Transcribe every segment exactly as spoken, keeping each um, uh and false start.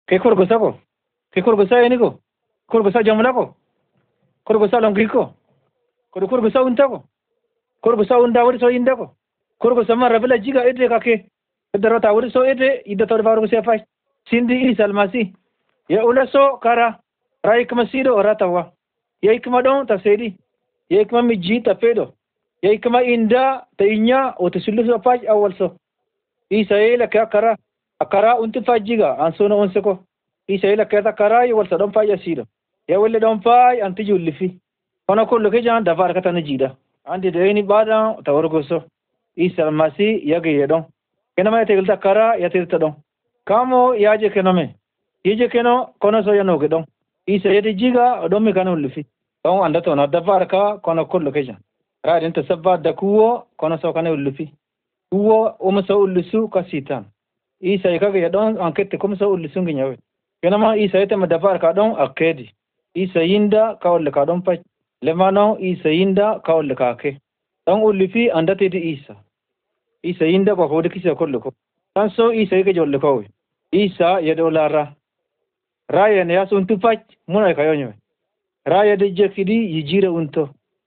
Ke korgosa ko. Ke korgosa yani ko. Korgosa jamla ko. Korgosa longi ko. Kor korgosa unta ko. Korgosa unda wari so inda ko. Korgosa ma rabila jiga ede kake. Darata wari so ede ida tor baru se fai. Sindi Isa almasi. Ya ula so kara. Rai kmasido oratawa. Ya ikma don ta sedi. Ya ikma miji ta pedo. Ya ikma inda ta inya o ta sulu so fai awal so. Isa ila ka kara. Akara unti fajiga ansono onseko. Isa ila ka kara yi wal sadon fai asido. Ya wale don fai anti jullifi. Kono kullu ke jan dafar kata najida. Andi de ni bada tawargoso. Isa almasi ya ge yedon. Kenama tegilta kara ya tirta don. Kamo yaje kenome. Yeje keno kono so yano gedon. Isa yedi jiga don mi kanu lufi. Don anda to na dafar ka kono kullu ke jan. Ra din ta sabba da kuwo kono so kanu lufi. Kuwo umso ulusu ka sitan. Isa ikaga yedon ankete kumso ulusu nginyawe. Kenama isa yete ma dafar ka don akedi. Isa yinda ka wal ka don pa lemano Isa yinda ka wal ka ke. Don ulufi anda te di Isa. Isa yinda ko hodi kisa kullu ko. Tan so Isa yake jolle ko. Isa yedo lara. Raya ne yasun tupach muna ka yonyo. Raya de jekidi yijire unto.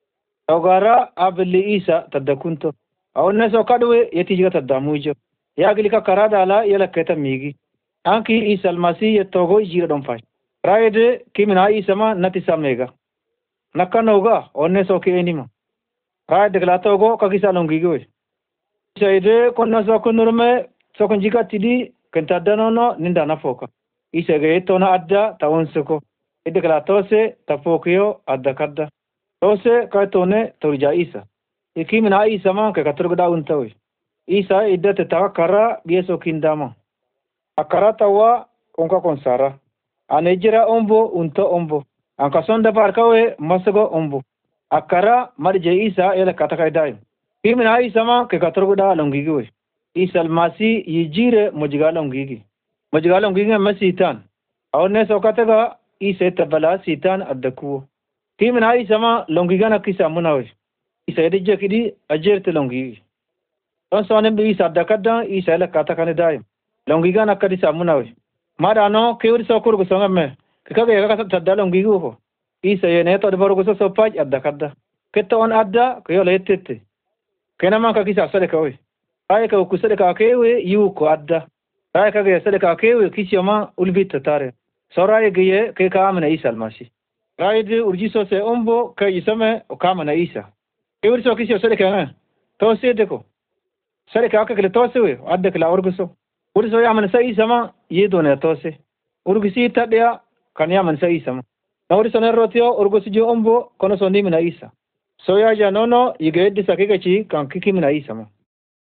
Ogara abli Isa tadakunto. Awne so kadwe yeti jiga tadamujo. Yagli ka karada la yala keta migi. Anki Isa almasi yetogo yijire don fach. Raya de kimina Isa ma nati samega. Nakanoga onne so ke enima. Raya de glatogo kakisa longigo. Isa ide konna so kunurme so kunjika tidi kentadanono ninda nafoka. Isa ge tona adda tawonsuko. Ide glatose tafokio adda kadda. Tose ka tone turja Isa. Ikimina Isa ma ke katurgda untawi. Isa ide te takara bieso kindama. Akara tawa onka konsara. Anejira ombo unto ombo. Anka sonda parkawe masago ombo. Akara marje Isa ele katakai dai. Kimina Isa ma ke katurgda longigiwe. Isa almasi yijire mujiga longigi. Mujiga longigi ma sitan. Awne so kataga Isa tabala sitan addakuwo. Kimina Isa ma longiga na kisa munawe. Isa edje kidi ajerte longigi. Don so ne bi Isa addakada Isa ele katakane dai. Longiga na kadi samunawe. Mada no kewri so kurgu so ngamme. Kikaga yaga tadda longigi ko. Isa yene to de borgo so paj addakada. Ketto on adda ko yo letete. Kenama ka kisa sale kawe. Ay ka ku sale ka kewe yu ko adda. Ay ka ga sale ka kewe kisiyoma ulbit tare. Soraye giye ke ka amana Isa almasi. Ay de urjiso se ombo ka isame o kama na Isa. Kewri so kisiyo sale ka to se de ko. Sale ka ka kle to se we adda kla urguso. Urso ya man sai sama yedo ne to se. Urgisi tadya kan ya man sai sama. Na urso ne rotio urgusi jo ombo kono so nimina Isa. So ya janono yigedi sakika chi kan kikimina Isa ma.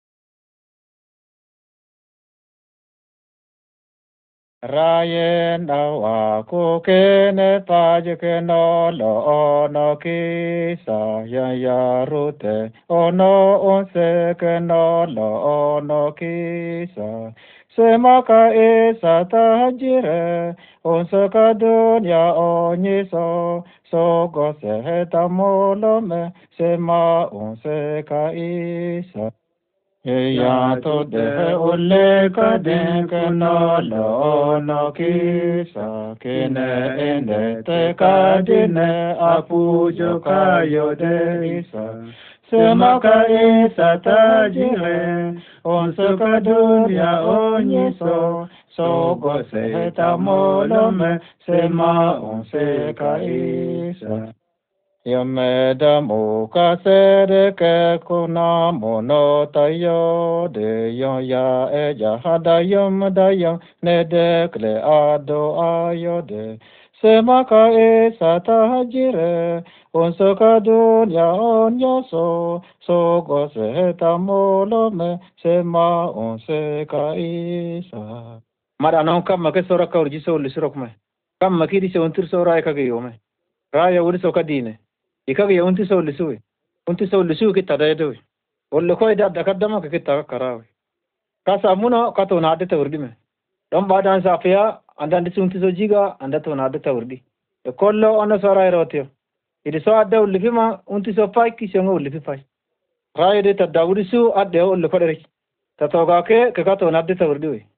Rayen awa ko kene paje ke no lo no kisa ya ya rute ono onse ke no lo no kisa semaka esa tajire onse ka dunya onyiso so go se tamolo me sema onse ka isa. Ya to de ole ka de ka no lo no kisa kene ende te ka de ne apu jo ka yo de isa sema ka isa ta jire on so ka dunya onye so so go se ta molo me sema on se ka isa. Yameda muka sere ke kuna mono tayo de yon ya e ya hadayom dayom ne de kle ado ayo de semaka e sata jire on so ka dunya on yo so so go se tamolo me sema on se ka isa. Mara non kam ke sora ka urji so lisrok me kam makiri se ontir sora ka ge yome raya uri so ka dine ikaga ya unti so lisuwe unti so lisuwe kita daydo wolle ko ida dakadama ke kita karawe kasa muno kato na adeta urdi me don badan sa fiya andan dis unti so jiga andato na adeta urdi e kollo ono sara erotio idi so adda ulli fima unti so fay ki so ngol li fay raide ta dawri su adde o le kodere ta toga ke ke kato na adeta urdi we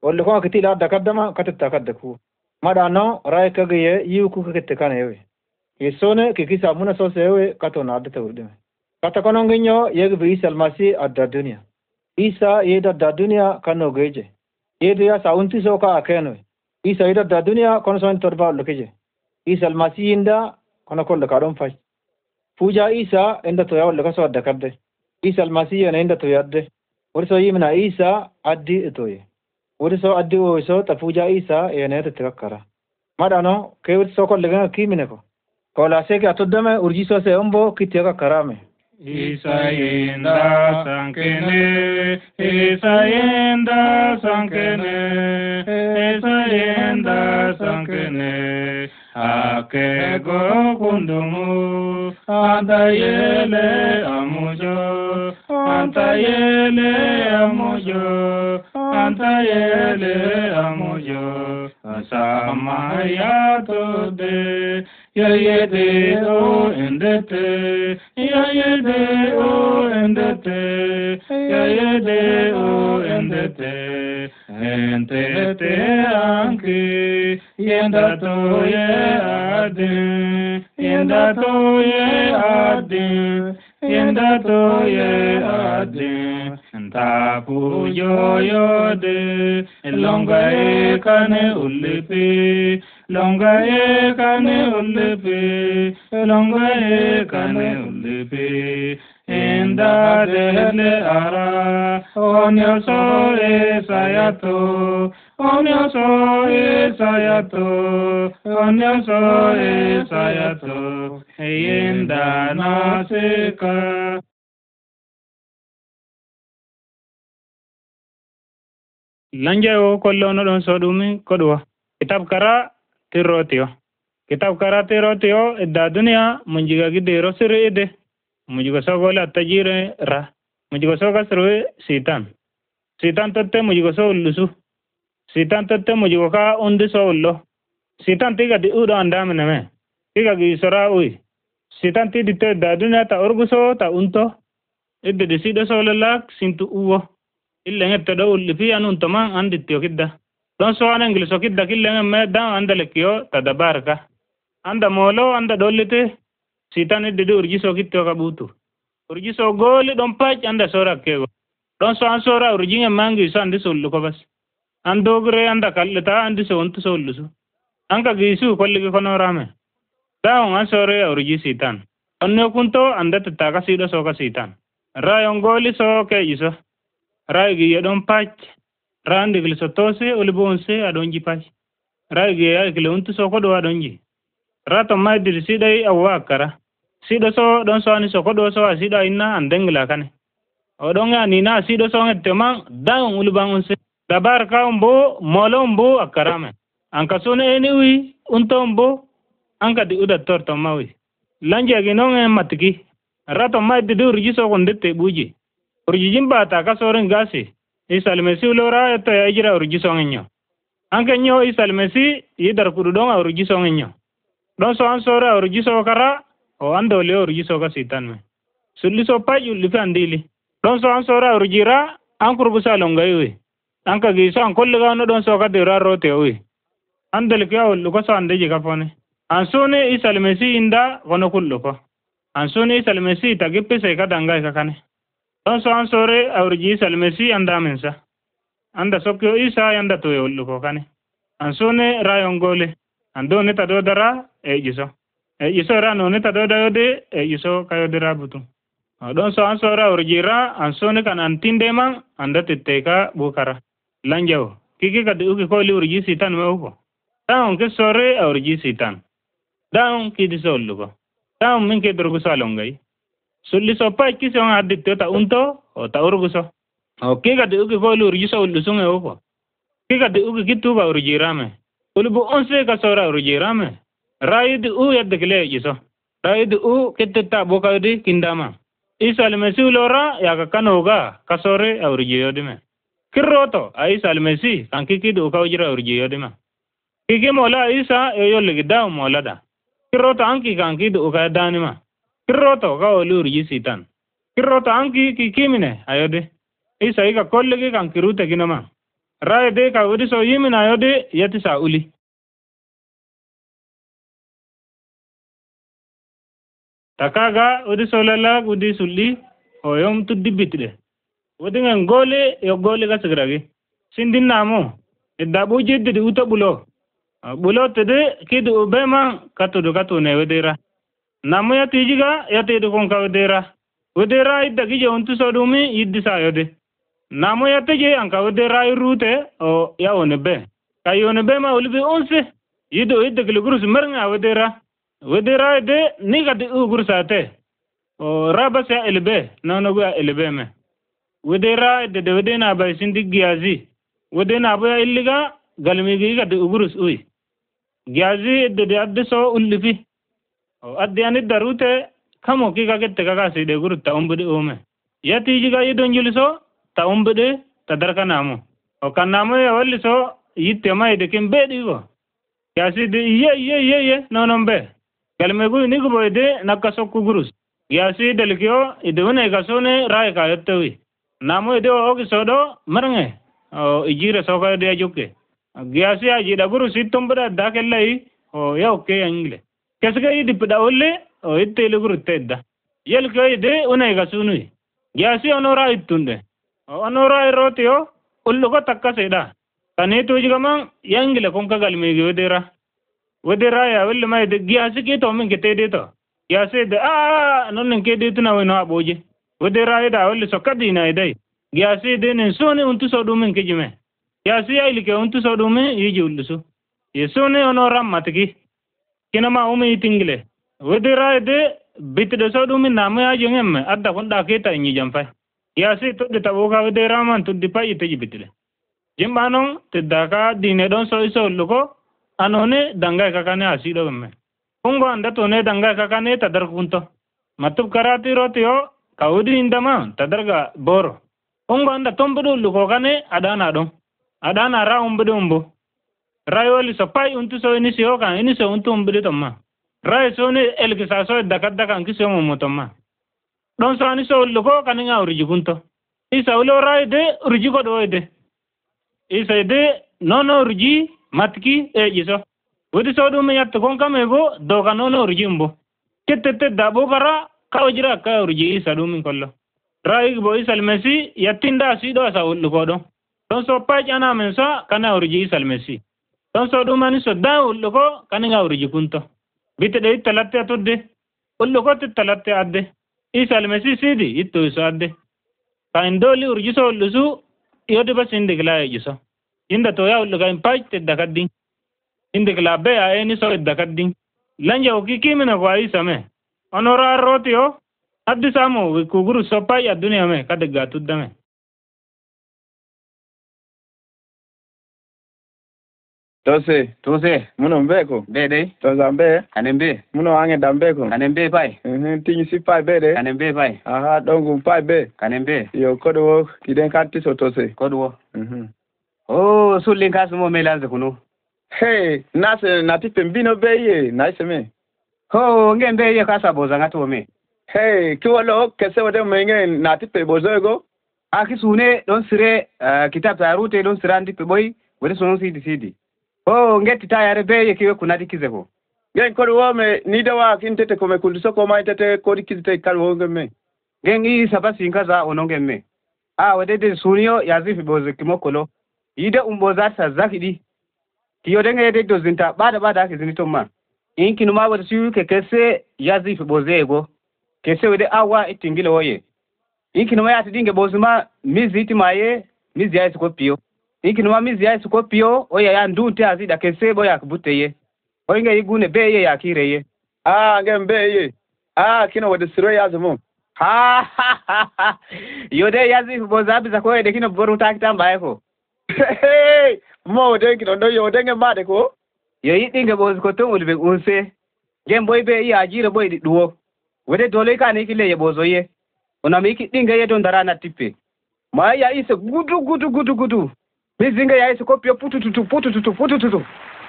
واللي كون كتير لا دكدما كتت كدكو ما دانو راي كغيه يوكو كتكان يوي يسونه كيكيسا منا سوسيوي كاتو نادته ودم kata kono nginyo yeg bi Isa almasi adda dunia Isa yeda da dunia kano geje yeda ya saunti so ka akeno Isa yeda da dunia kono son torba lokeje Isa almasi inda kono kol ka don fas puja Isa inda to yaw lokaso adda kadde Isa almasi yana inda to yadde urso yimna Isa addi itoye urso addi o so ta puja Isa yana te takkara madano ke urso kol lega kimine ko kola se ka todame urjiso se ombo kitya karame Isa yenda sankene, Isa yenda sankene, Isa yenda sankene, ake go kundumu, anta yele amujo, anta yele amujo, anta yele amujo, asama ya tode. Ya yede o endete, ya yede o endete, ya yede o endete, endete anki, yenda to ye adin, yenda to ye adin, yenda to ye adin, tapu yo yo de, longa e kane ulipi. Longa e kane ulipi, longa e kane ulipi, inda dele ara, onyo so e sayato, onyo so e sayato, onyo so e sayato, inda nasika. Lanje o kollo no don sodumi kodwa, kitab kara tirotio kitab karate rotio da dunia munjiga gidero sire ide mujiga sogola tajire ra mujiga soga sire sitan sitan totte mujiga so lusu sitan totte mujiga ka undi so ullo sitan tiga di udo andame neme tiga gi sora ui sitan ti ditte da dunia ta orguso ta unto idde de sido so lak sintu uwo illa ngetta do ulli fi anun tamang anditio kidda don so an ingiliso kidda killen me da anda lekio tadabarka anda molo anda dollite sitan idde urjiso kitto ka butu urjiso goli don pach anda sora kego don so an sora urjinga mangi so andi sullu ko bas andogre anda kallita andi so ontu sollusu anka gisu kolligi kono rame da on an sore urji sitan onno kunto anda taga sido so ka sitan rayon goli so ke iso raygi yedon pach rande gil sotose olibonse adonji pai ragi ya gil untu so kodo adonji rato maidir sidai awwa kara sido so don so ani so kodo so asida inna andengla kane odonga ni na sido so ngetema daun ulibangonse dabar ka umbo molombo akarame anka sone eniwi untombo anka di uda torto mawi lanje ginonge matiki rato maidir rijiso kondete buji urjijimba ta kasoren gasi Isa almasi ulora eto ya ijira urjiso ngenyo. Anke nyo Isa almasi yidar kudu donga urjiso ngenyo. Don so ansora urjiso kara o ando le urjiso ka sitan me. Suliso paju lifi andili. Don so ansora urjira ankur busa longa iwi. Anka giso ankolle ga no don so ka dira rote iwi. Andel kya ulu ko so andeji ka fone. Ansone Isa almasi inda kono kullu ko. Ansone Isa almasi tagippe se ka danga ka kane. Don so ansore urji Isa almasi anda mensa. Anda sokyo Isa yanda to yollu ko kane. Ansone rayon gole. Ando ne tado dara e jiso. E jiso ra no ne tado da yode e jiso kayo dira butu. Don so ansora urjira ansone kan antinde man anda titteka bukara. Lanjao. Kiki ka uki ko li urji sitan me uko. Taon ke sore urji sitan. Daon ki disollu ko. Taon min ke durgu salongai. Sulli so pa kisi on additte ta unto o ta urguso. O kika de uki ko li urji so lusunge uko. Kika de uki kitu ba urjirame. Ulubu onse ka sora urjirame. Raid u yadde kile jiso. Raid u kitta boka di kindama. Isa almasi ulora ya ka kanoga kasore urjiyodime. Kirroto Isa almasi kan kiki du ka ujira urjiyodime. Kiki mola Isa yo ligida mola da. Kirroto anki kan kiki du ka danima. Kirroto ka olu urji sitan. Kirroto anki kiki mine ayode. Isa ika kollegi kan kirute kinama. Rai de ka wudi so yimina yode yati sa uli. Takaga wudi so lala wudi sulli o yom tuddi bitde. Wudi ngen gole yo gole ga sigragi. Sindin namo idda buje de uta bulo. Bulo tede kidu ubema katudu katune wedera. Namo ya tijiga ya tedu konka wedera. Wedera idda gije untu sodumi yiddi sa yode. Namo ya teje anka wedera irute o ya onebe. Kayo nebe ma ulibi onse. Yido idda kilugurus mernga wedera. Wedera de niga de ugurusate. O rabas ya elbe nonogu ya elbe me. Wedera de de wedena ba sindi giazi. Wedena ba illiga galmigi ga de ugurus ui. Giazi de de adde so ullifi. O adde ani darute kamo ki ga gette ga si de gurutta umbude ome. Yati jiga yidon juliso ta umbude ta darka namo. O kanamo ya walliso yitte mai de kimbe digo. Giazi de ye ye ye ye nonombe. Galmegu ni go de nakasokku gurus. Giazi delkio idone gasone rai ka yettewi. Namo de o gisodo marnge. O ijire soka de ajuke. Giazi aji da gurus itombada dakellai o ya okay angle. Kesga yidi pida olle o ittele gurutedda. Yelko ide unai gasunui. Giazi onora ittunde. O onora irotio ullugo takka seda. Kaneto jigaman yangle konka galmegi wedera. Wedera ya welle mai de giazi ke to min kete de to. Giazi de a non ke de tuna weno aboje. Wedera ida welle sokadi na idai. Giazi de nen sone untu sodu min kejime. Giazi ya ilike untu sodu min yiji ullusu. Yesone onora matki. Kinama umi itingle. Wedera de bitde sodu min namu ya jengemme adda konda keta inyi jamfai. Giazi to de taboga wedera man to dipa ite bitde. Jimbanon tidaka dine don so iso luko anone dangai kakane asido gemme. Ungo anda tone dangai kakane tadar kunto. Matub karati rotio kaudi indama tadarga boro. Ungo anda tombedu luko kane adana don. Adana ra umbedu umbo. Rayoli sopai untu so ini siyo kan ini so untu umbedu tomma. Ray so ne elkisa so dakadda kan kiso momotomma. Don so ani so luko kaninga uriji kunto. Isa ulo ray de uriji ko do de. Isa de nono uriji matki e jiso. Wadi sodu me yatta kon kamego do kanono uriji umbo. Ketete dabo kara kawjira ka uriji isa dum kollo. Ray bo isa almesi yattinda sido asa luko do. Don so pa jana mensa kana uriji isa almesi. Don so du mani so da luko kaninga uriji kunto. Bitte de talatte atudde. Luko te talatte adde. Isa almesi sidi itto iso adde. Ka indoli uriji so lusu yodi bas indigla jiso. Inda to ya luka impaj te dakaddin. Indigla be a eni so dakaddin. Lanja ukiki mina kwa isa me. Onora rotio addi samo kuguru sopai ya dunia me kadega tudda me. Tose, Tose, muno mbeko. bede, Tozambe, kanembe, muno ange dambeko. kanembe pai, Mhm, tinyi si pai bede. kanembe pai, Aha, dongu pai be. kanembe, Yo kodo kiden kati so tose. kodwo. Mhm. Oh, sulin kasumo melanze kuno. Hey, nase natipe mbino beye, nice me. Ho, ngembe ye kasa boza ngato me. Hey, kiwalo kese wade menge natipe bozoego. Akisune don sire uh, kitab tarute don sirandi pe boy, wede sono sidi sidi. Oh, ngeti tayare be ye kiwe kunadi kizeko. Gen kodo wame nida wa kintete kome kuldiso koma itete kodi kizite kalu honge me. Gen i sabasi nkaza ononge me. Ah, wede de sunio yazifi boze kimokolo. Ida umboza sa zakidi. Kiyo denge yede dozinta bada bada kizinito ma. Inki numa wede siyu ke kese yazifi boze ego. Kese wede awa itingile oye. Inki numa yati dinge bozuma mizi iti maye, mizi ya isiko pio. Inki numa mizi ya isiko pio, oye ya ndunte azida kese boya kubute ye. Oye igune beye ya kire ye. Ah, nge mbeye. Ah, kino wade siro yazumu. Ha ha ha ha. Yode yazifi boze abiza koye de kino boru takitamba eko. Hey, mo dengi ndo yo denge made ko. Yo yiɗinge ɓoosi ko ton woni ɓe unse gen boy ɓe iya jiire boy ɗi ɗuwo wode dole ka ni kile ye ɓooso ye onami iki ɗinge ye don darana tippe ma ya ise gudu gudu gudu gudu mi zinge ya ise kopio putututu putututu putututu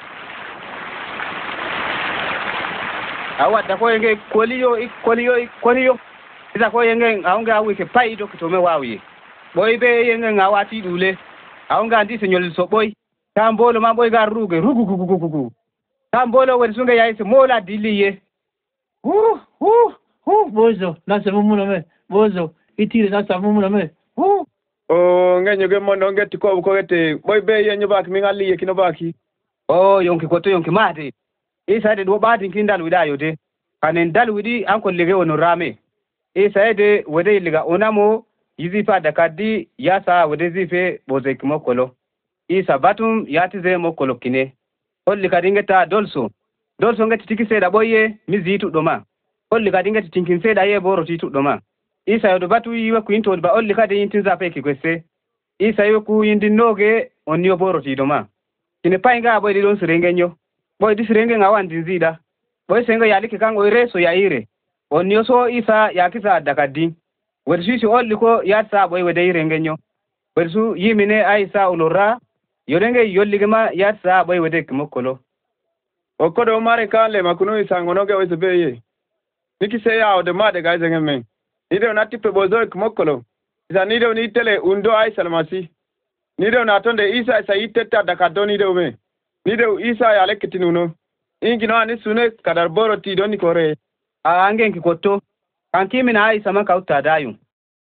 awadda ko yenge koliyo koliyo koliyo isa ko yenge aunge awike pay do kitome wawiye boy ɓe yenge ngawati ɗule aunga andi senyol so boy tambolo ma boy gar ruge rugu gugu gugu gugu tambolo wadi sunga yayi se mola diliye hu hu hu bozo na samu muna me bozo itire na samu muna me hu o ngenyo ge mondo ngeti ko ko gete boy be yenyo bak mi ngali ye kino baki o yonki ko to yonki mate isa de do badi kindal widayo de kanen dal widi an ko lege wono rame isa de wede liga onamo yizifa da kaddi yasa wede zife boze kimo kolo isa batum yatize mo kolo kine holli kadingeta dolso dolso ngati tiki seda boye mizitu doma holli kadingeta tinkin seda ye boro titu doma isa yodo batu yiwa ku into ba holli kadi yintin zape ki kwese isa yo ku yindin noge onyo boro ti doma kine painga boy di don sirengenyo boy di sirenge ngawan dinzida boy senga yaliki kango ireso ya ire onyo so isa yakisa dakadi wersusi holli ko yatsa boy wede irengenyo wersu yimine aisa ulora yorenge yolligema yatsa boy wede kimokolo okodo mare kale makuno isangono ge wese beye niki se ya ode made ga zengeme nido na tipe bozo kimokolo isa nido ni tele undo ai salmasi nido na tonde isa isa iteta dakado nido me nido isa ya lekitinuno ingino ani sune kadar boro ti doni kore a angen kikoto kankimi na aisa maka utadayu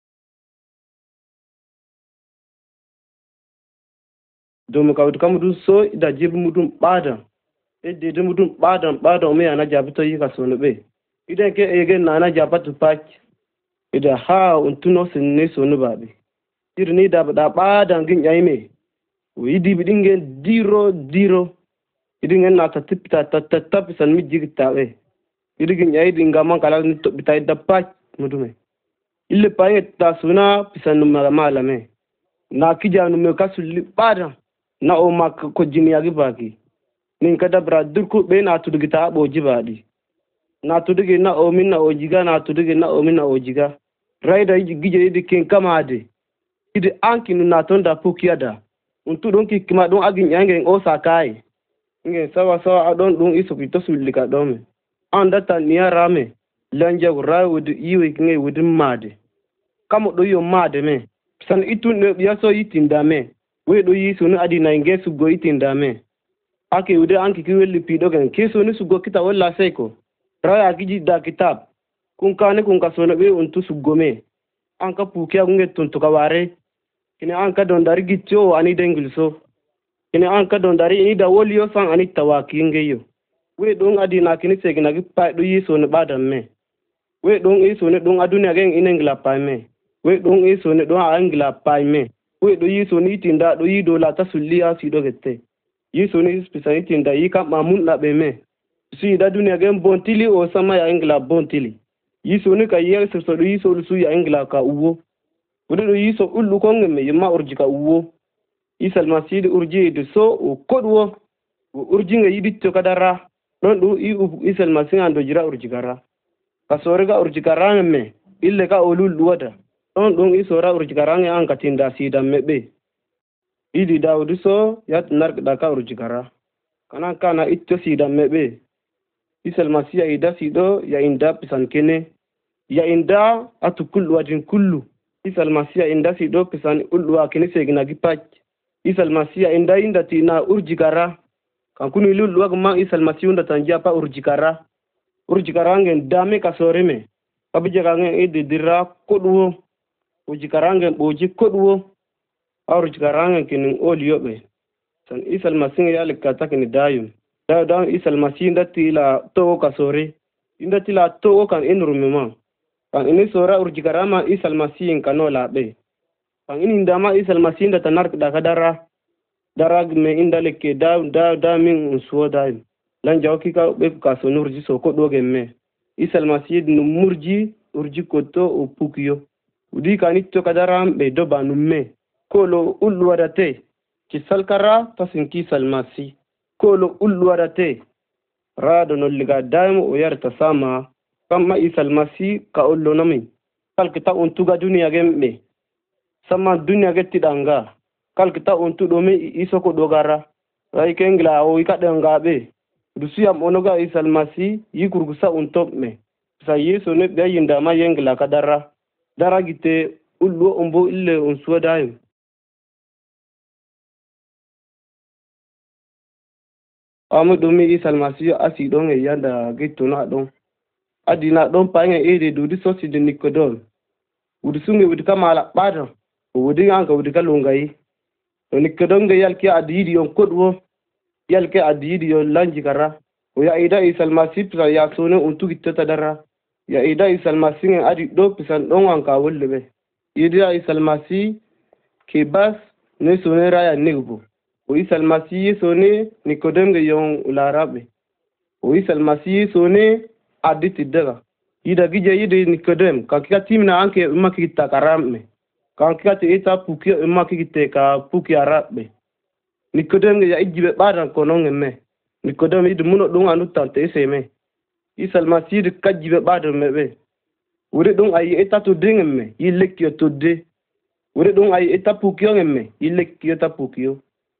domin ka wuta mutum so da jibi mutum badan idda da mutum badan badan mai ana jabi to yi ka so be idan ke ege na ana jaba tu pak idan ha untuno sin ne so ba be dir ni da da badan gin yayi me wi di bidingen diro diro idingen na ta tipta ta ta ta pisan mi jigta be idigin yayi dinga man kala ni to bitai da pak mudume ille paye ta suna pisan ma malame na kijanu me kasul badan na o mak ko jini yagi baki nin kada bra durku be na tudugi ta bo jibadi na tudugi na o min na o jiga na tudugi na o min na o jiga raida gije idi ken kamade idi ankinu na tonda pukiada untu don ki kima don agin yange o sakai nge sawa sawa adon don iso fito sulika dome anda tan niya rame lanja rai wudu iwe nge wudu made kamo do yo made me san itu ne yaso yitinda me we do yi sunu adi na nge su go itinda me ake ude anki ki welli pido gan ke sunu su go kita walla seko raya giji da kitab kun kane kun ka sonu be untu su gome an ka puke nge tuntu ka ware kine an ka don dari gitio ani dengilso kine an ka don dari ni da woliyo san ani tawaki ngeyo we don adi na kini segina gi pa do yi sunu badam me we don yi sunu don adunya gen inengla pa me we don yi sunu don angla pa me we do yi sunu itinda do yi do la ta sulliya si do gette yi sunu spisa itinda yi kam mamun la be me si da dunya gen bontili o sama ya ingla bontili yi sunu ka yi so so do yi so su ya ingla ka uwo wudu do yi so ullu ko ngeme yima urji ka uwo yi salma si do urji do so o kodwo o urji nga yi ditto kadara don do yi yi salma sin ando jira urji gara ka sore ga urji gara me ille ka olul wada don don yi sora urji gara nga an katinda si da mebe idi dawdu so yat nark da ka urji gara kana kana itto si da mebe isal masiya ida sido ya inda pisan kene ya inda atu kullu wajin kullu isal masiya inda sido pisan ullu wa kene segina gipach isal masiya inda inda tina urjikara kan kunu lullu wa ma isal masiya unda tanja pa urjikara urjikara ngen dame kasore me abije ka ngen ide dira kodwo urjikara ngen boji kodwo urjikara ngen kinin oliyobe san isal masiya ya likata kini dayum da da isal masi ndati la to kasore ndati la to kan enrumema kan ini sora urjikarama isal masi kano la be kan ini ndama isal masi ndata nar da kadara darag me indaleke da da da min unsuwa da lan jawki ka be ka so nurji so ko doge me isal masi nu murji urji koto o pukiyo udi kanit to kadara be do banumme kolo ullu wadate ki salkara tasinki salmasi kolo ulluwarate rado nolliga daimo o yarta sama kamma isal masi ka ollo nami kalkita untuga duniya gembe sama duniya getti danga kalkita untu do me isoko dogara rai kengla o ikade ngabe dusiyam onoga isal masi yikurgusa untop me sa yeso ne bayinda ma yengla kadara daragite ullo ombo ille unsuwa daim amu dumi Isa almasiyo asi don e yanda gitu na don adina don panya ede dudi sosi de Nikodem wudi sunge wudi kamala bada wudi anka wudi kalungai to Nikodem ge yalki adidi yon kodwo yalki adidi yon lanji kara o ya ida Isa almasiyo ya sone untu gittata dara ya ida Isa almasiyo adi do pisan don anka wollebe ida Isa almasiyo ke bas ne sone raya negbo o Isa almasiyo sone Nikodem ge yon ularabe o Isa almasiyo sone aditi daga ida gije yide Nikodem ka kika timna anke makita karame ka kika te eta puki makite ka puki arabe Nikodem ya ijibe badan konon me Nikodem id muno dun anu tante seme Isa almasiyo de kajibe badan mebe wure dun ayi eta to dingemme yilekyo to de wure dun ayi eta puki ngemme yilekyo ta puki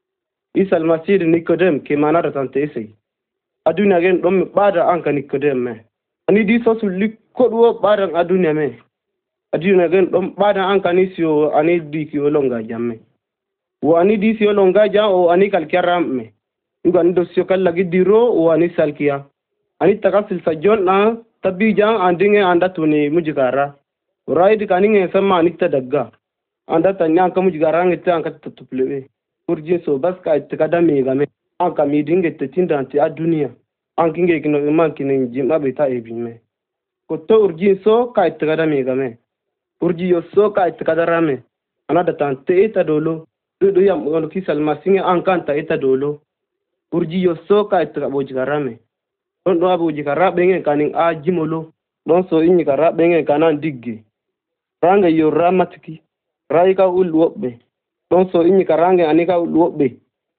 Isa almasiyo de Nikodem ke manara tante se aduna gen dum bada anka Nikodem me ani di so sulli kodwo badan adunya me aduna gen dom badan an kanisio ani di ki olonga jamme wo ani di si olonga ja o ani kalkiaram me yuga ndo sio kala gidiro o ani salkia ani takasil sajon na tabi jang andinge anda tuni mujigara raid kaninge sama ani tadagga anda tanya ka mujigara ngita an ka tutuple urji so bas ka itkada me game an ka midinge tetinda anti adunia an kinge kino man kinin jima beta ebime ko to urji so ka itkada me game urji yo so ka itkada rame anada tante eta dolo do yam on kisal masinge an kanta eta dolo urji yo so ka itkada bojigarame don do abu jikara benge kanin a jimolo don so inyi kara benge kanan digge ranga yo ramatiki raika ulwobe don so inyi karange anika ulwobe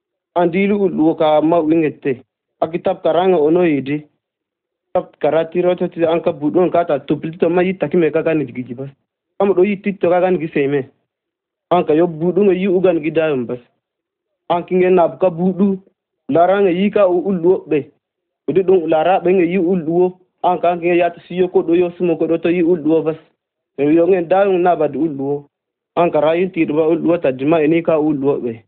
andilu ulwoka ma wingete akitab karanga ono yidi tap karati roto ti anka budon kata tuplito ma yitakime kaka ni digiji bas am do yitito kaka ni giseme anka yo budun yi ugan gidayum bas ankinge nabka budu laranga yika ulwobe udi dum lara benge yi ulwo anka ankinge yata siyo ko do yo sumo ko do to yi ulwo bas yo ngen dayum nabad ulwo anka rayinti do ulwo tadima enika ulwobe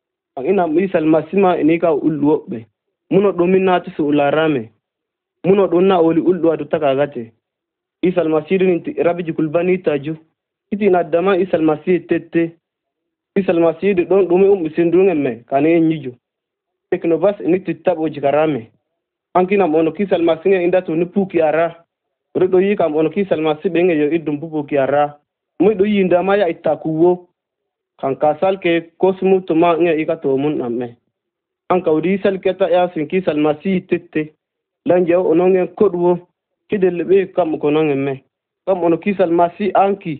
ina misal masima enika ulwobe muno dominati su ularame muno donna oli uldo adu takagate Isa almasiru ninti rabiji kulbani taju iti na dama Isa almasiru tete Isa almasiru don dumi um sindungemme kane nyijo teknobas ni titabo jikarame ankina mono Isa almasiru inda to ni puki ara redo yi kam ono Isa almasiru benge yo idum puki ara mu do yi ndama ya itakuwo kan kasal ke kosmu to ma nge ikato mun amme anka udi sal keta ya sin Isa almasiru tete lanje ononge kodwo kidel be kam ko nonge me kam ono Isa almasiru anki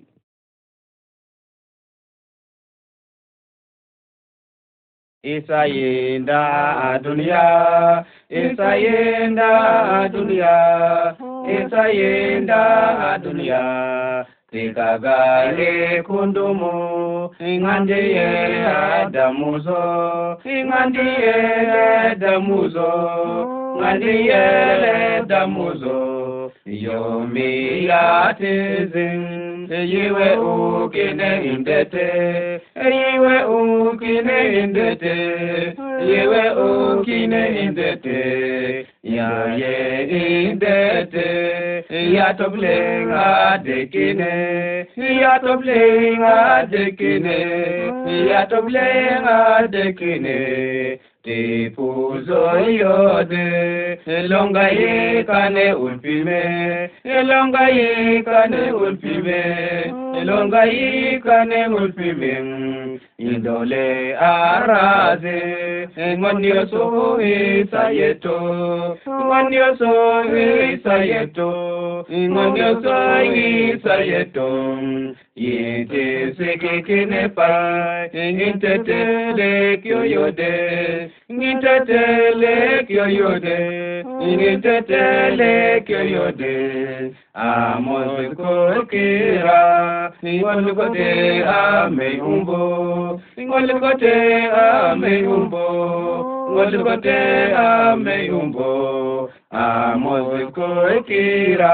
Isa yenda dunia Isa yenda dunia Isa yenda dunia Tikagale kundumu ingandiye adamuzo ingandiye damuzo ngandiye damuzo yomi yatizin yiwe ukine indete yiwe ukine indete yiwe ukine indete ya ye indete ya toblenga dekine ya toblenga dekine ya toblenga dekine te puzo yode longa ye kane ulpime longa ye kane ulpime longa ye kane ulpime indole araze ngonyo so isayeto ngonyo so isayeto ngonyo so isayeto yete sekekene pa intete kyoyode intete kyoyode intete kyoyode amos kokira ngolgote ame umbo ngolgote ame umbo ngolgote ame umbo amos kokira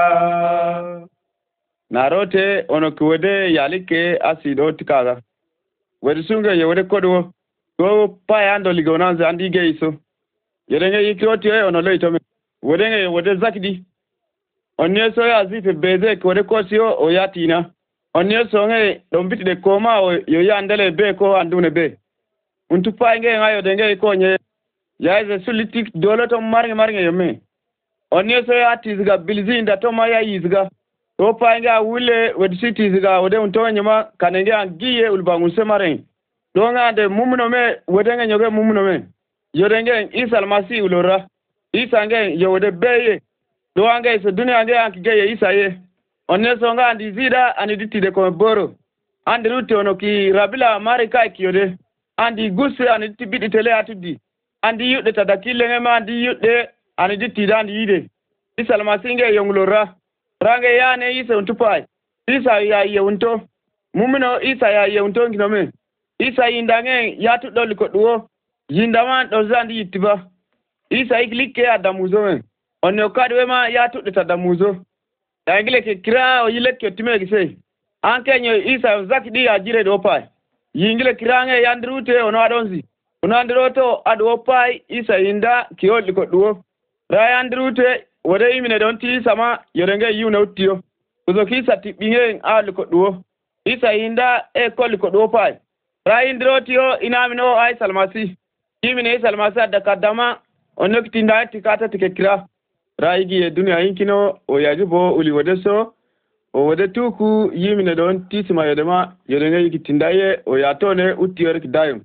narote ono kuwede yalike asido tikaga wedi sunga ye wede kodwo go pa ando ligonanze andige iso yodenge yikoti e ono loy tome wodenge wode zakdi onne so ya zife beze ko de kosio o yatina onne so nge dombiti de koma o yo yandele be ko andune be untu painge ngayo denge ko nye yaise sulitik dolo to marnge marnge yome onne so ya tizga bilzinda to ma ya yizga to painge wule wed citizga wode unto nyama kanenge angiye ulbangun semaren donga de mumuno me wodenge nyoge mumuno me yodenge isal masi ulora isange yode beye do ange so dunia nge ankige isaye onne so nga andi zida andi ditide ko boro andi ruti ono ki rabila marika kiyode andi gusse andi tibidi tele atudi andi yudde tadakile ngema andi yudde andi ditide andi yide isal masinge yonglora range yane isa untupai isa ya yewunto mumino isa ya yewunto nginome isa indange yatu doli ko duwo yindaman do zandi yittiba isa iklike adamuzo men onne kadwe ma yatu de tadamuzo yangle ke kira o yileke time gise anke nyo isa zakdi ajire do pai yingle kirange yandrute ono adonzi ono androto ado pai isa inda kiyoli ko duwo ra yandrute wode yimine don ti sama yorenge yuna uttiyo uzo kisa tibinge alu ko duwo isa inda e koli ko duwo pai ra indrotio inamino ay salmasi yimine salmasi da kadama onne kitinda tikata tikekira raigi e dunia inkino o yajibo uli wodeso o wode tuku yimine don tisima yodema yodenge yikitindaye o yatone utiyor kidayum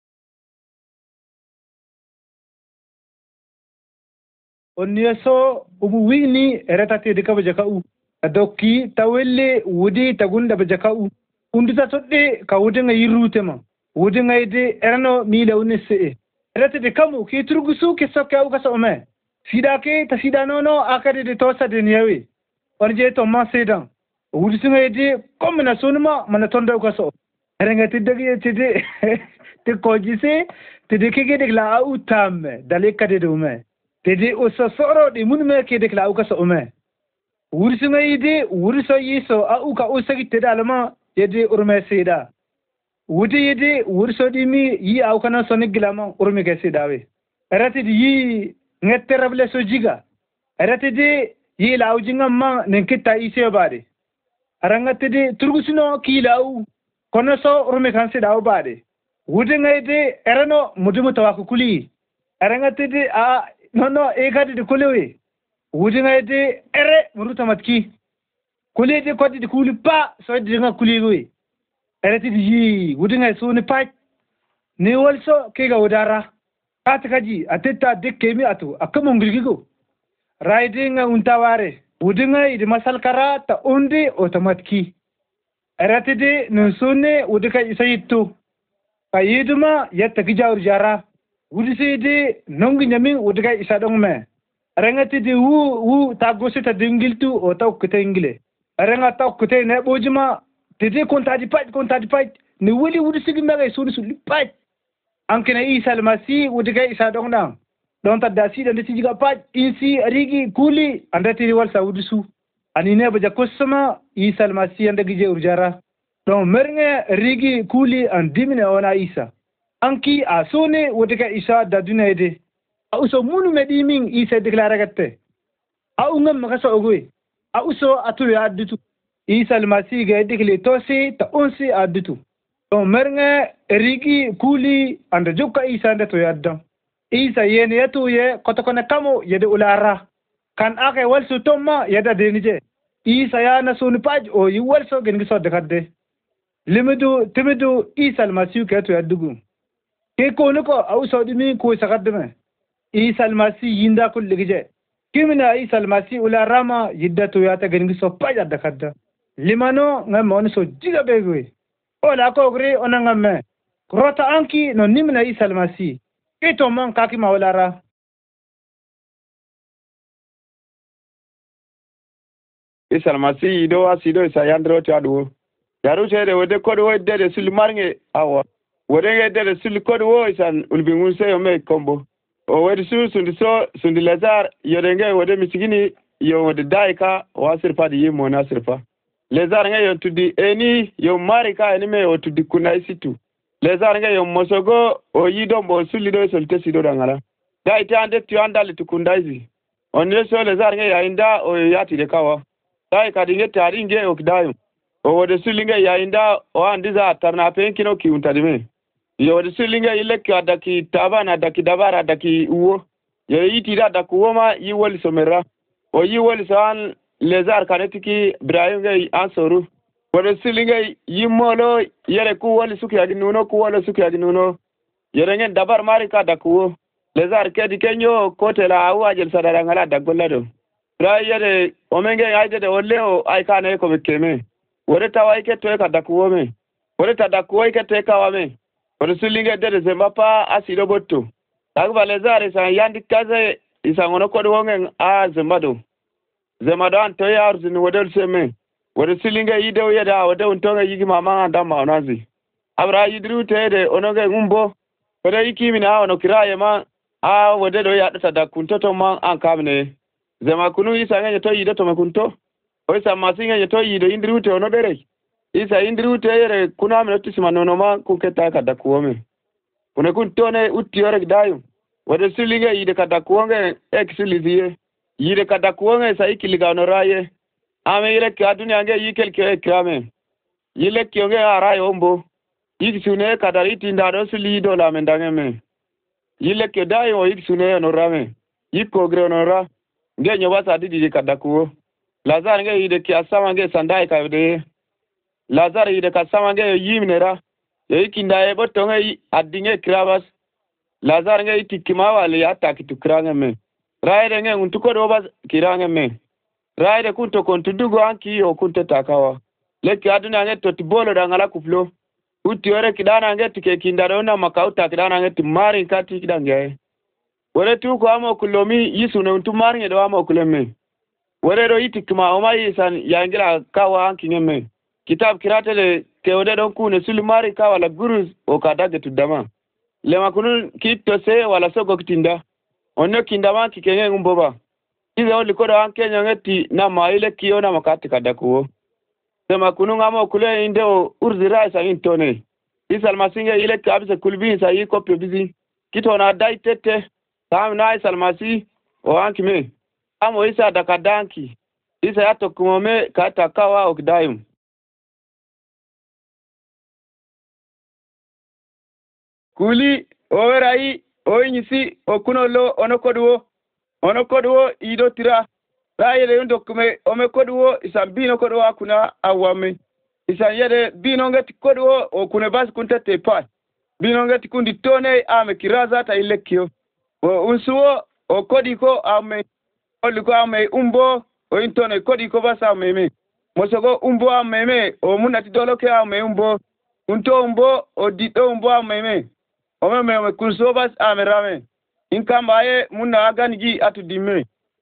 onneso ubu wini eretati de kabaja ka u adokki tawelle wudi tagunda baja ka u undita sodde ka wudenga yirutema wudenga ide erano mila unese erete de kamu ki turgusu ke sokka u kasa ome sida ke ta sida nono akade de tosa de niyawe onje to ma sedan wudisunga ide komna sunuma mana tonda u kasa erenga tidagi tide te kojise tide ke de la u tam dale kade de ume tede usasoro de munme ke de la u kasa ume wudisunga ide wuriso yiso a u ka usagi tede alama yede urme sida wudi yede wuriso dimi yi au kana sonik gilama urme ke sidawe erate di yi ngette rable so jiga erate di yi law jinga ma nenkita ise bade arangate di turgusino ki law kono so urme kan sidaw bade wudi ngayde erano mudumu tawakuli arangate di a nono egade di kulewe wudi ngayde ere muruta matki kuli de kodi di kuli pa so di nga kuli goy erati di yi wudi ngay so ni pa ni wolso ke ga wudara ata kaji atetta dekke mi atu akamo ngilgigo riding untaware wudi ngay di masal kara ta undi automatiki erati di nusune wudi kay isayitu kayiduma yatta gijawr jara wudi sidi nongi nyamin wudi kay isa dongme rengati di wu wu tagosi ta dingiltu o taw kete ingile renga taw kete ne bojuma tede konta di pat konta di pat ni wuli wudi sigi mega sudi su pat ankena isa almasi wudi kay isa dongna don ta dasi dan ti jiga pat insi rigi kuli andati wal saudi su ani ne baja kosama isa almasi anda gije urjara don mernge rigi kuli an dimine ona isa anki asone wudi kay isa da dunede auso munu medimin isa deklara gatte au ngam makaso ogwe auso atu ya addutu isa almasi ga dikle tosi ta onsi addutu to mernge rigi kuli anda jukka isa nda to yadda isa yene yatu ye kotokone kamo yede ulara kan ake walsu tomma yada denije isa ya na sunu paj o yi walso gengi so dekadde limidu timidu isa almasi ga to yaddugu ke kono ko auso dimi ko sakaddeme isa almasi yinda kulli gije kimina isa almasi ula rama yiddatu yata gengi so paja dakadda limano ngam on so jiga begwe ola ko gre onanga me rota anki no nimna isa almasi kito mon kaki mawlara isa almasi do asido isa yandro tadu yaru cede wode kodo wode de sulmarnge awa wode de de sul kodo wo isan ulbingun seyo me kombo o wadi su sundi so sundi lazar yodenge wode misigini yo wode daika wasirpa di yimo nasirpa lazar nga yo tudi eni yo marika eni me o tudi kuna isitu lazar nga yo mosogo o yido mbo suli do solte sido dangala da ita ande ti anda le tukundaizi onne so le zar nge ya inda o yati de kawa dai ka dinge tari nge o kidayo o wode sulinge ya inda o andiza tarna penkino ki untadime yo wode sulinge ile ki adaki tabana adaki dabara adaki uwo yo yiti da dakuwo ma yi woli somera o yi woli san le zar kanetiki Ibrahim nge ansoru wode sulinge yimolo yere ku woli suki aginuno ku woli suki aginuno yere nge dabar mari ka dakuwo lezar kedi kenyo kote la awa jel sadara ngala dagollado rayere omenge ayde de oleo ay kane ko bekeme wore tawai ke to ka dakuwo me wore ta dakuwo ke te ka wame wore sulinge de de mapa asido botto dagba lezar sa yandi kaze isa ngono ko wongen a zembado zemado an to yar zin wodel seme wore sulinge yide o yeda wode on tonga yigi mama anda ma onazi abra yidru tede onoge ngumbo wode yiki mina ono kiraye ma a wode do ya data da kunto to man an kamne zema kunu isa ngene to yido to me kunto o isa masinga ye to yido indrute ono dere isa indrute yere kuna me to sima nono ma ku keta ka da kuome kuna kunto ne utti yore dayu wode silinga yide ka da kuonge exilizie yide ka da kuonge sa ikiliga no raye ame yire ka dunya nge yikel ke krame yile kyonge araye ombo yikisune kadariti ndado sili do la mendange me yile ke dai o iksune no rame yiko gre no ra nge nyoba sa didi kadakuo lazar nge ide ki asama nge sandai ka de lazar ide ka sama nge yimnera e ikinda e boto nge adinge krabas lazar nge itikima wale ataki tukrange me raide nge untuko do bas kirange me raide kunto kontudugo anki o kunte takawa leki aduna nge totibolo dangala kuflo utiore kidana nge tike kindarona makauta kidana nge timari kati kidange wore tu ko amo kulomi yisune untumari nge do amo kuleme wore do itikma o mai san yangira kawa kinyeme kitab kiratele ke ode don kune sulmari kawa la gurus o kadage tudama le makunu kitto se wala sogo kitinda onno kindama kikenge ngumboba ize oli kodo ankenya ngeti na maile kiona makati kadakuo sema kunu ngamo kule indeo urzira sa intone isal masinge ile kabisa kulbi sa yi kopyo bizi kitona dai tete tam na isal masi o ankime amo isa dakadanki isa yato kumome kata kawa okdayum kuli owerai oinyisi okunolo onokodwo onokodwo ido tira raile yundo kume omekodwo isambino kodwo akuna awame isanyede binongeti kodwo okune basi kuntete pa binongeti kundi tone ame kiraza ta ilekio o unsuo okodiko ame oliko ame umbo o intone kodiko basa meme mosogo umbo ameme o munati doloke ame umbo unto umbo o dito umbo ameme o meme o kunso bas ame rame inkambaye munna aganigi atudime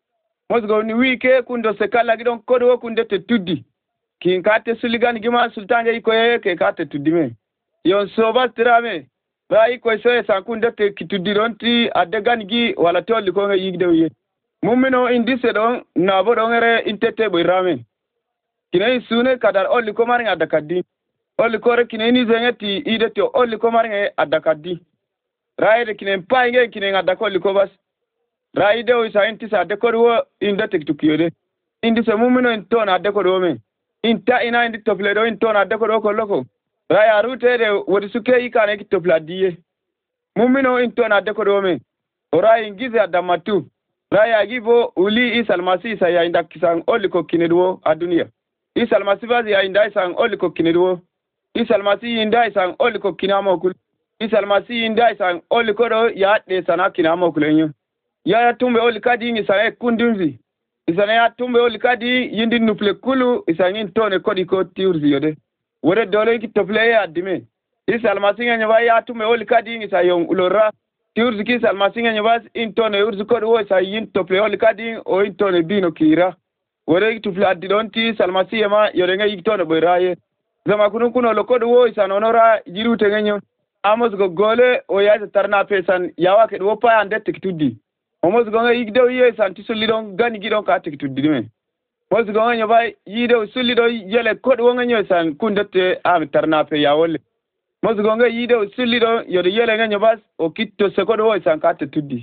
mosgo ni wike kundo sekala gidon kodwo kundete tuddi kin kate suligan gima sultanje iko ke kate tudime yon soba tirame ba iko so sankunde te kitudironti adegan gi wala tolli ko nga yigde wiye mumino indise don na bodon ere intete boyrame kinai sune kadar olli ko mari adakadi olli ko re kinai ni zengeti idete olli ko mari adakadi raide kinai painge kinai adakolli ko bas raide o scientist adekorwo indete tukiyode indise mumino intona adekorwo me inta ina indi topledo intona adekorwo ko loko raya rutede wodi suke ikane ki topladiye mumino intona adekorwo me ora ingize adamatu raya gibo uli isalmasi sa ya inda kisang oliko kinedwo adunia isalmasi bazi ya inda isang oliko kinedwo isalmasi inda isang oliko kinamo kul isalmasi inda isang oliko do ya de sana kinamo kulenyo ya ya tumbe olikadi ni sa kundunzi isana ya tumbe olikadi yindi nuple kulu isangin tone kodi ko tiurzi yode wore dole ki tople ya dime isalmasi nya ya tumbe olikadi ni sa yon ulora tiurzi ki salmasi nya bas intone urzi kodi wo sa yin tople olikadi o intone bino kira wore ki tople adidonti salmasi ma yore nga yitone boyraye zama kunu kuno lokodi wo isana onora jirute ngenyo amos go gole o ya tarna pesan yawa ke do pa ande tikitudi omos gonga yigdo ye santi sulidon gani gidon ka tikitudi me mos gonga nyoba yido sulido yele kod wonga nyo san kundete am tarna pe yawole mos gonga yido sulido yode yele nga nyobas o kitto se kod wo san ka tikitudi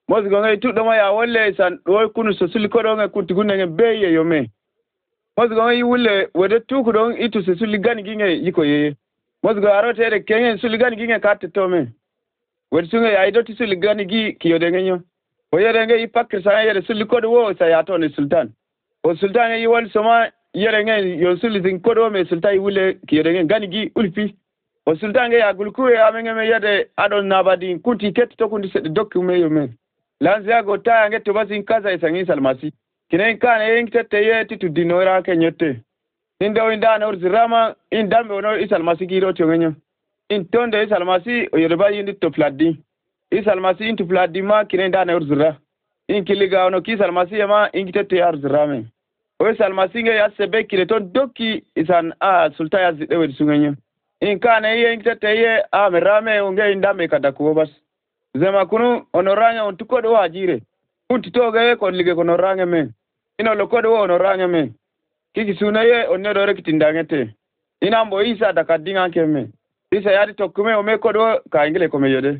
mos go ngai tuddo ma ya wolle san do kunu so suli ko do ngai kunti gunne ngai beye yo me mos go ngai wulle wede tuku do itu so suli gani ginge yiko ye mos go arote de kengen suli gani ginge katte to me wede sunga ya ido ti suli gani gi kiyo de ngai o yere ngai pakir sa yere suli ko do wo sa ya to ni sultan o sultan yi wal soma yere ngai yo suli zin ko do me sultan wulle kiyo de ngai gani gi ulfi o sultan ngai agulku ya me ngai yade adon nabadi kunti ket to kundi se dokume yo me lanzia go ta nge to basin kaza isangi salmasi kinen kana yin tete ye titu dinora kenyote inda winda na urzirama indambe ono isalmasi giro chongenyo in tonde isalmasi oyorba yindi to fladi isalmasi into fladi ma kinen da na urzira in kiliga ono kisalmasi ma in tete ya urzirame o isalmasi nge ya sebe kile to doki isan a sulta ya zidewe sungenyo in kana ye tete ye a merame unge indambe kadakuo bas zema kunu onoranya untuko do ajire unti toge ko lige ko norange men ino lokode wo onorange men kiki sunaye onne do rekitindangete ina mbo isa dakadinga keme isa yadi tokume o me ko do ka ingile ko meyode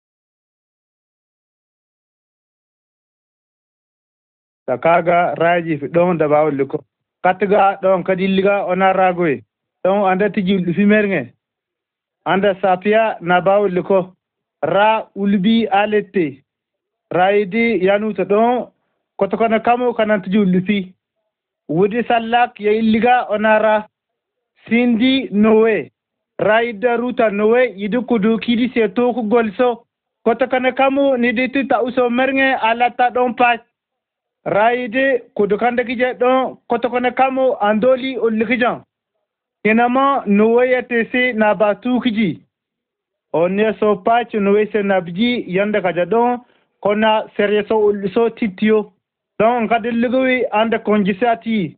takaga raji fi don da bawo liko katga don kadilliga onaragoy don anda tiji fi mernge anda sapia na bawo liko ra ulbi alete raidi yanuta don kotokona kamo kanantu julfi wudi sallak ya illiga onara sindi nowe raida ruta nowe yidukudu kidi seto ku golso kotokona kamo niditi ta uso mernge alata don pat raide kudukanda kije don kotokona kamo andoli ullikijan kinama nowe yatese na batu kiji onne so patch no wese nabji yanda kaja don kona serieso so titio don kadil lugi anda konjisati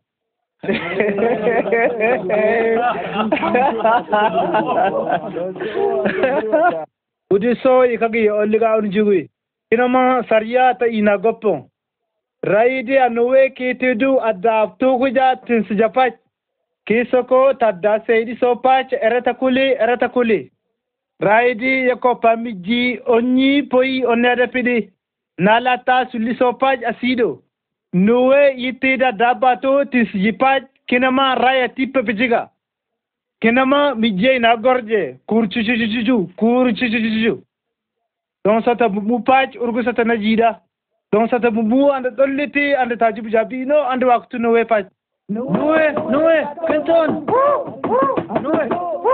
udi so ikagi oliga unjugui inama sariyata ina goppo raide anowe ketedu adapto kuja tinsjapat kisoko tadda seidi so patch erata kuli erata kuli raidi yako pamiji onyi poi onere pidi nalata sulisopaj asido nuwe yitida dabato tisjipaj kinama raya tipe pijiga kinama mijay na gorje kurchuchuchuchu kurchuchuchu don sata mupaj urgu sata najida don sata bubu anda dolliti anda tajibu jabino anda waktu nuwe paj nuwe nuwe kenton nuwe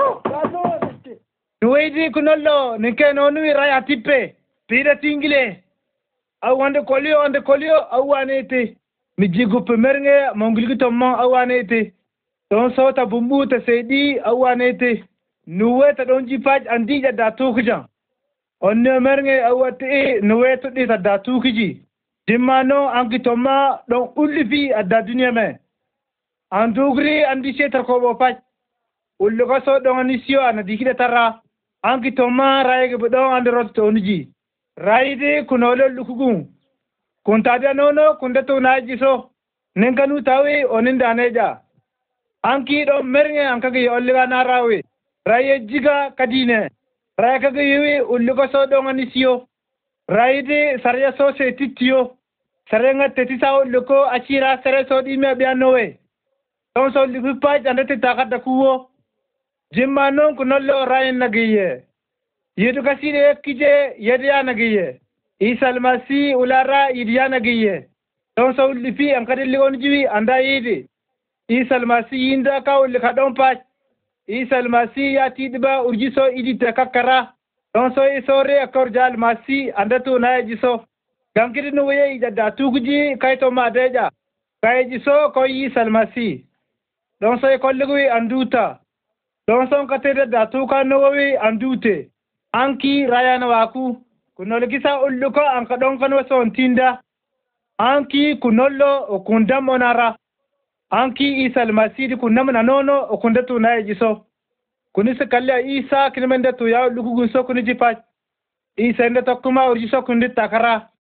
nuweidi kunollo nike nonui raya tippe pida tingile au ande kolio ande kolio au anete mi jigu pemerge mongilgi tomma au anete don sota bumbu ta seedi au anete nuwe ta don jipaj andija da tukja onne merge au ate nuwe to di ta da tukji dimano anki tomma don ullifi adda dunya me andugri andi setar ko bo paj ullugo so don anisio anadikide tarra anki toma raige bodon ande rotto onji raide kunolo lukugun kuntada nono kundato naji so nenganu tawi oninda neja anki do mernge ankage olliga narawe raye jiga kadine raye kage yewi ullugo so don anisio raide sarya so se titio sarenga tetisa ulluko achira sare so dime bianowe don so lipaj andate takada kuwo jimma non ko nollo rayen nagiye yedu kasire kije yediya nagiye isal masi ulara idiya nagiye don so lifi an kadilli on jiwi anda yidi isal masi yinda ka ul ka don pa isal masi ya tidba urjiso idi te kakara don so isore akor jal masi anda tu na jiso gankiri no ye ida da tuguji kayto ma deja kay jiso ko isal masi don so ko lugui anduta don son katede da tuka nawawi andute anki rayana waku kunol kisa ulluko anka don kan wason tinda anki kunollo okundam onara anki isal masidi kunamna nono okundatu nayiso kunisa kalla isa kinmende to ya lugu gunso kuniji pa isa nda tokkuma urjiso kundi takara